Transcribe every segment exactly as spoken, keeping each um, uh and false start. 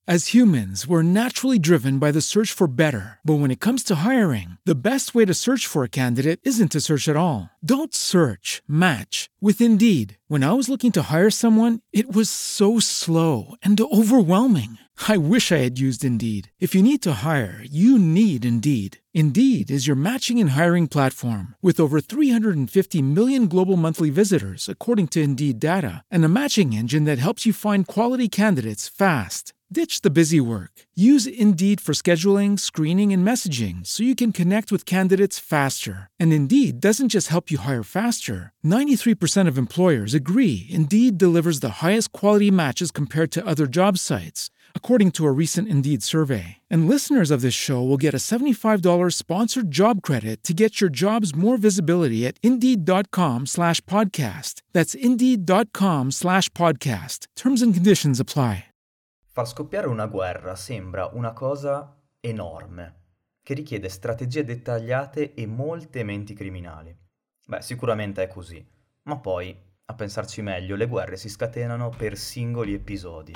As humans, we're naturally driven by the search for better. But when it comes to hiring, the best way to search for a candidate isn't to search at all. Don't search, match with Indeed. When I was looking to hire someone, it was so slow and overwhelming. I wish I had used Indeed. If you need to hire, you need Indeed. Indeed is your matching and hiring platform with over three hundred fifty million global monthly visitors, according to Indeed data, and a matching engine that helps you find quality candidates fast. Ditch the busy work. Use Indeed for scheduling, screening, and messaging so you can connect with candidates faster. And Indeed doesn't just help you hire faster. ninety-three percent of employers agree Indeed delivers the highest quality matches compared to other job sites, according to a recent Indeed survey. And listeners of this show will get a seventy-five dollars sponsored job credit to get your jobs more visibility at Indeed.com slash podcast. That's Indeed.com slash podcast. Terms and conditions apply. Far scoppiare una guerra sembra una cosa enorme, che richiede strategie dettagliate e molte menti criminali. Beh, sicuramente è così, ma poi, a pensarci meglio, le guerre si scatenano per singoli episodi.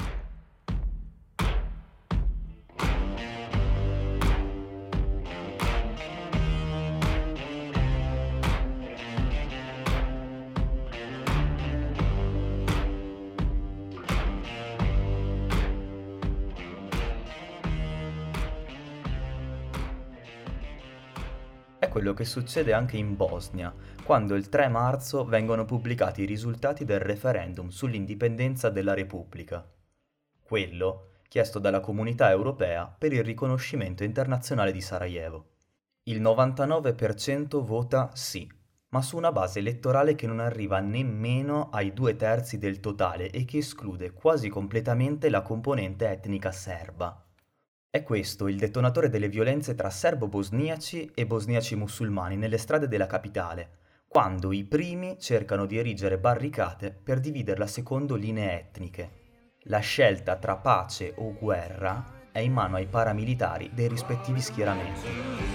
È quello che succede anche in Bosnia, quando il tre marzo vengono pubblicati i risultati del referendum sull'indipendenza della Repubblica. Quello chiesto dalla Comunità Europea per il riconoscimento internazionale di Sarajevo. Il novantanove per cento vota sì, ma su una base elettorale che non arriva nemmeno ai due terzi del totale e che esclude quasi completamente la componente etnica serba. È questo il detonatore delle violenze tra serbo-bosniaci e bosniaci musulmani nelle strade della capitale, quando i primi cercano di erigere barricate per dividerla secondo linee etniche. La scelta tra pace o guerra è in mano ai paramilitari dei rispettivi schieramenti.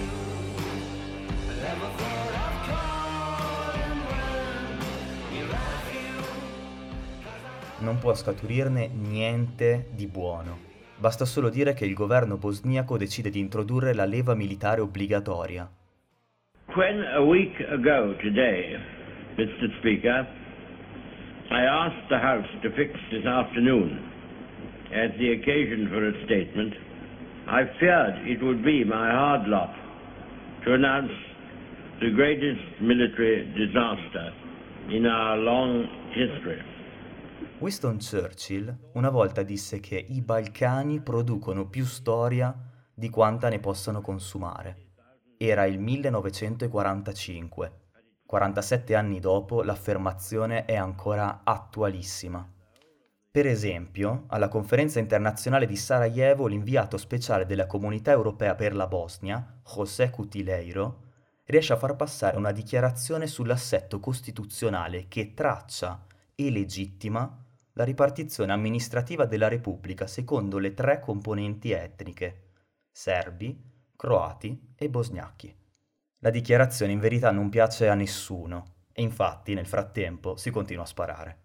Non può scaturirne niente di buono. Basta solo dire che il governo bosniaco decide di introdurre la leva militare obbligatoria. When a week ago today, Mister Speaker, I asked the House to fix this afternoon as the occasion for a statement, I feared it would be my hard lot to announce the greatest military disaster in our long history. Winston Churchill una volta disse che i Balcani producono più storia di quanta ne possano consumare. Era il millenovecentoquarantacinque. quarantasette anni dopo l'affermazione è ancora attualissima. Per esempio, alla conferenza internazionale di Sarajevo l'inviato speciale della Comunità Europea per la Bosnia, José Cutileiro, riesce a far passare una dichiarazione sull'assetto costituzionale che traccia e legittima la ripartizione amministrativa della Repubblica secondo le tre componenti etniche: serbi, croati e bosgnacchi. La dichiarazione in verità non piace a nessuno e infatti nel frattempo si continua a sparare.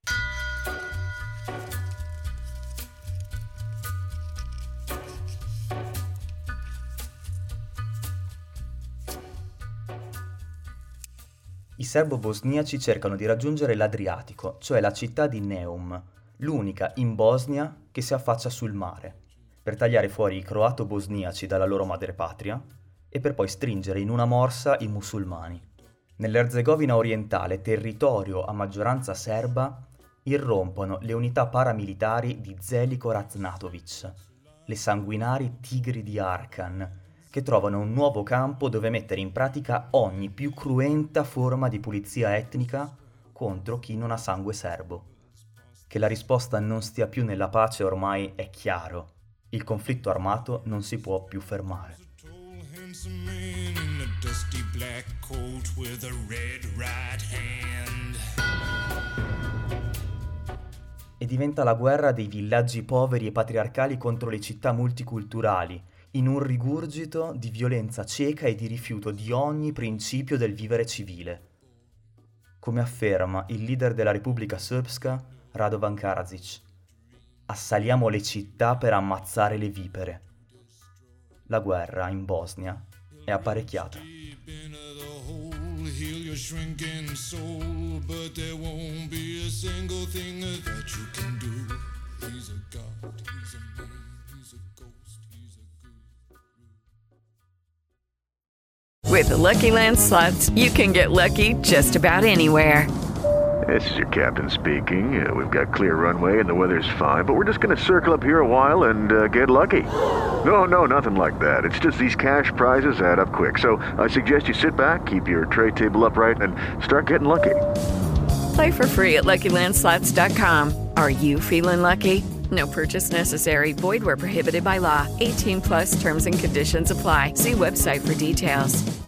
I serbo-bosniaci cercano di raggiungere l'Adriatico, cioè la città di Neum, l'unica in Bosnia che si affaccia sul mare, per tagliare fuori i croato-bosniaci dalla loro madrepatria e per poi stringere in una morsa i musulmani. Nell'Erzegovina orientale, territorio a maggioranza serba, irrompono le unità paramilitari di Zeljko Raznatović, le sanguinari tigri di Arkan, che trovano un nuovo campo dove mettere in pratica ogni più cruenta forma di pulizia etnica contro chi non ha sangue serbo. Che la risposta non stia più nella pace ormai è chiaro. Il conflitto armato non si può più fermare. E diventa la guerra dei villaggi poveri e patriarcali contro le città multiculturali, in un rigurgito di violenza cieca e di rifiuto di ogni principio del vivere civile. Come afferma il leader della Repubblica Srpska, Radovan Karadzic. Assaliamo le città per ammazzare le vipere. La guerra in Bosnia è apparecchiata. With the Lucky Land Slots, you can get lucky just about anywhere. This is your captain speaking. Uh, we've got clear runway and the weather's fine, but we're just going to circle up here a while and uh, get lucky. No, no, nothing like that. It's just these cash prizes add up quick. So I suggest you sit back, keep your tray table upright, and start getting lucky. Play for free at Lucky Land Slots dot com. Are you feeling lucky? No purchase necessary. Void where prohibited by law. eighteen plus terms and conditions apply. See website for details.